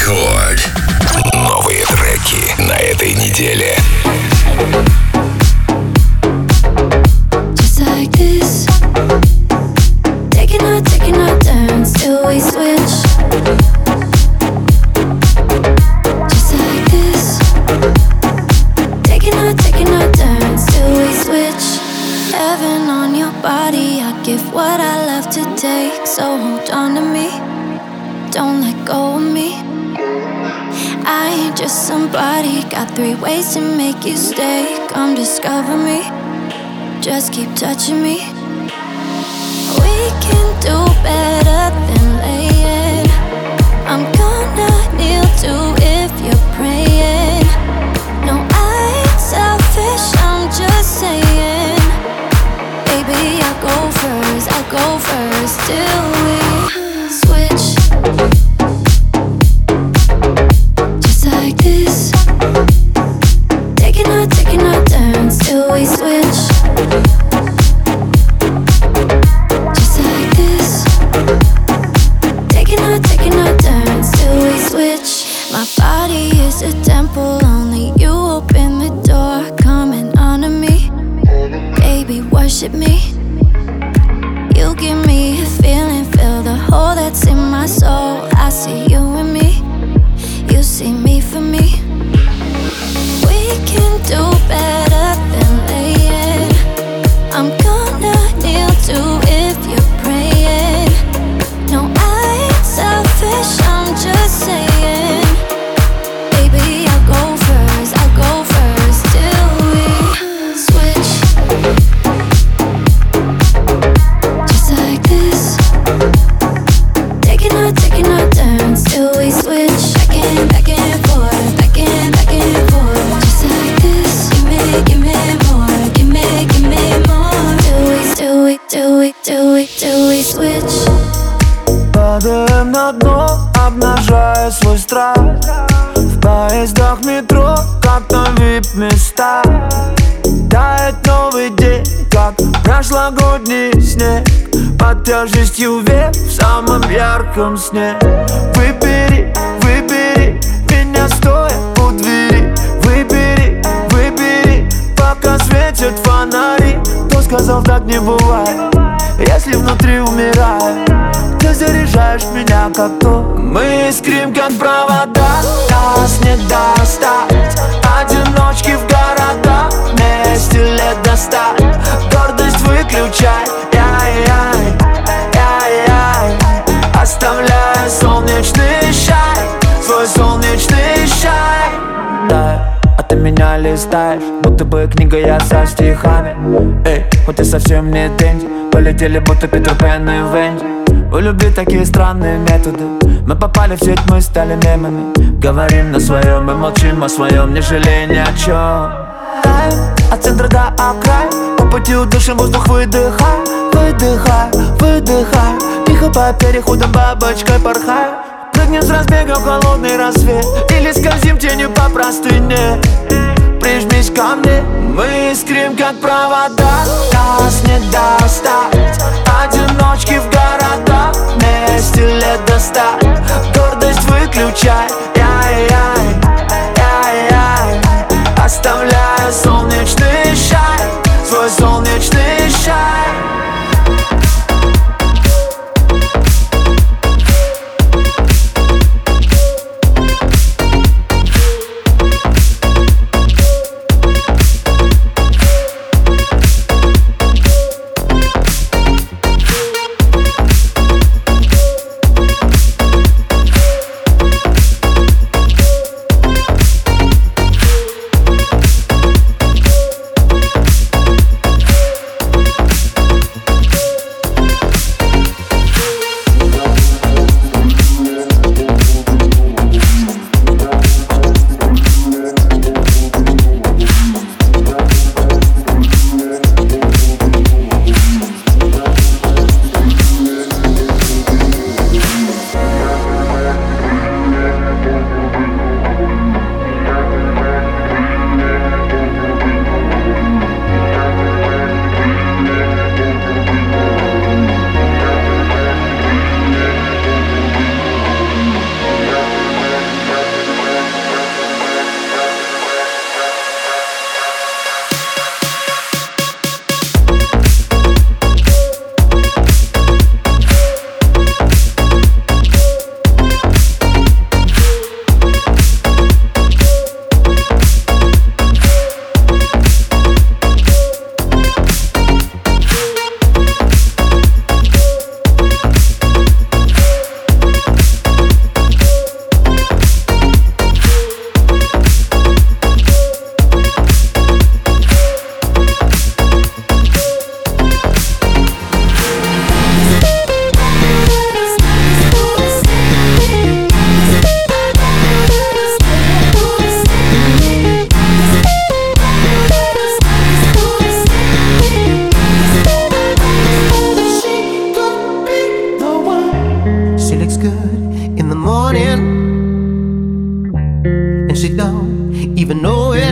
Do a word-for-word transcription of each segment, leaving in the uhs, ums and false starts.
Рекорд. Новые треки на этой неделе. Just like this, taking our, taking our turns till we switch. Just like this, taking our, taking our turns till we switch. Heaven on your body, I give what I love to take. So hold on to me, don't let go of me. I ain't just somebody, got three ways to make you stay. Come discover me, just keep touching me. We can do better than laying. I'm gonna kneel too if you're praying. No, I ain't selfish, I'm just saying. Baby, I'll go first, I'll go first till we switch. Just like this, taking our, taking our turns till we switch. Just like this, taking our, taking our turns till we switch. My body is a temple, only you open the door. Come and honor me, baby, worship me. You give me a feeling, feel the hole that's in my soul. I see you and me, you see me for me. We can do better than laying. I'm gonna kneel too if you're praying. No, I ain't selfish, I'm just saying. Baby, I'll go first, I'll go first till we switch. Just like this, taking our, taking our turns till we switch. Back and, back and forth, back and, back and forth. Just like this, give me, give me more, give me, give me more. Till we, till we, till we, till we, till we switch. Падаем на дно, обнажая свой страх. В поездах метро, как на вип-места. Тает новый день, как прошлогодний снег. Под тяжестью век в самом ярком сне. Выбери, выбери меня стоя у двери. Выбери, выбери, пока светят фонари. Кто сказал, так не бывает, если внутри умираю? Ты заряжаешь меня как то. Мы искрим как провода, нас не достать. Одиночки в городах, вместе лет до ста. Гордость выключай, яй-яй, яй-яй. Оставляя солнечный шай, свой солнечный шай. Да, а ты меня листаешь, будто бы книга я со стихами. Эй, хоть и совсем не деньги, полетели будто Питер Пен и Венди. У любви такие странные методы. Мы попали в сеть, мы стали мемами. Говорим на своем и молчим о своем, не жалея ни о чем. Таем от центра до окрая, по пути удушим воздух, выдыхай. Выдыхай, выдыхай, тихо по переходам бабочкой порхай. Прыгнем с разбега в холодный рассвет или скользим тенью по простыне. Прижмись ко мне, мы искрим как провода, нас не достать. Одиночки в городах, вместе лет до ста. Гордость выключай, яй-яй, яй-яй. Оставляя солнечный шай, свой солнечный шай. morning, and she don't even know it.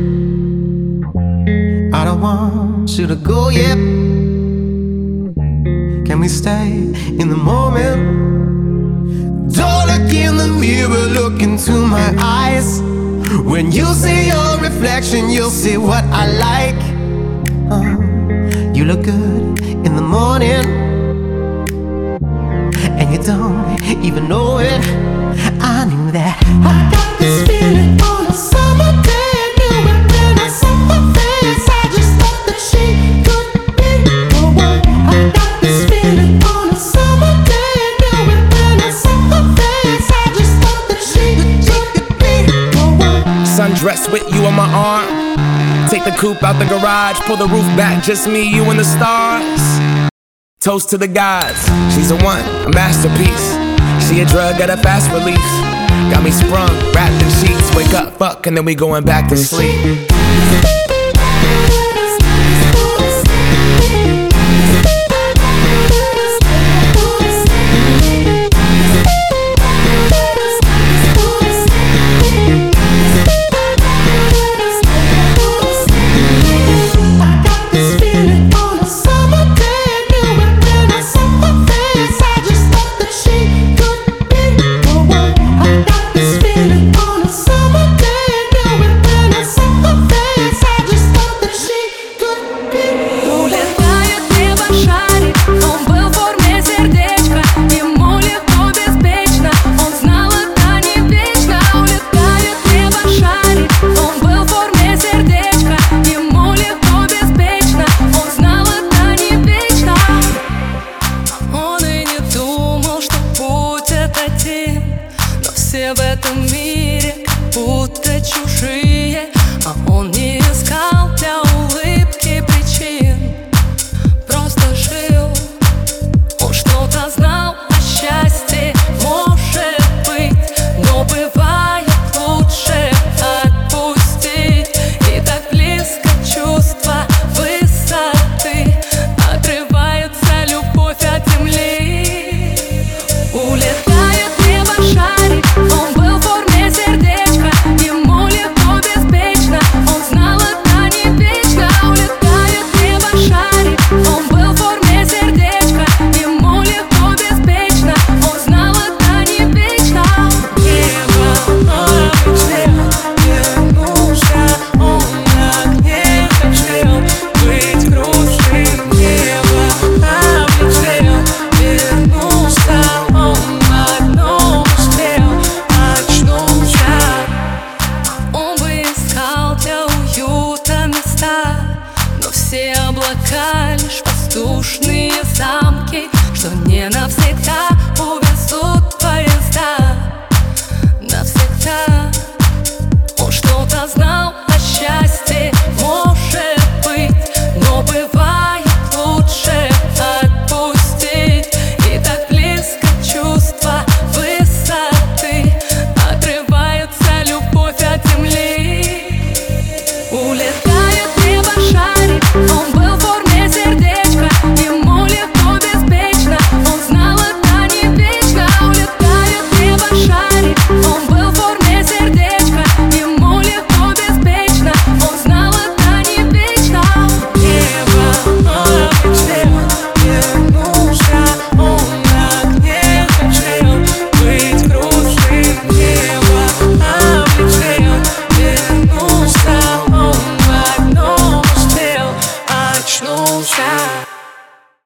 I don't want you to go yet. Can we stay in the moment? Don't look in the mirror, look into my eyes. When you see your reflection, you'll see what I like. uh, You look good in the morning, and you don't even know it. I knew that. I got this feeling on a summer day. I knew it when I saw her face. I just thought that she could be the one. I got this feeling on a summer day. I knew it when I saw her face. I just thought that she could be the one. Sundress with you on my arm. Take the coupe out the garage. Pull the roof back, just me, you and the stars. Toast to the gods. She's a one, a masterpiece. She a drug at a fast release. Got me sprung, wrapped in sheets. Wake up, fuck, and then we going back to sleep. Но все в этом мире как будто чужие.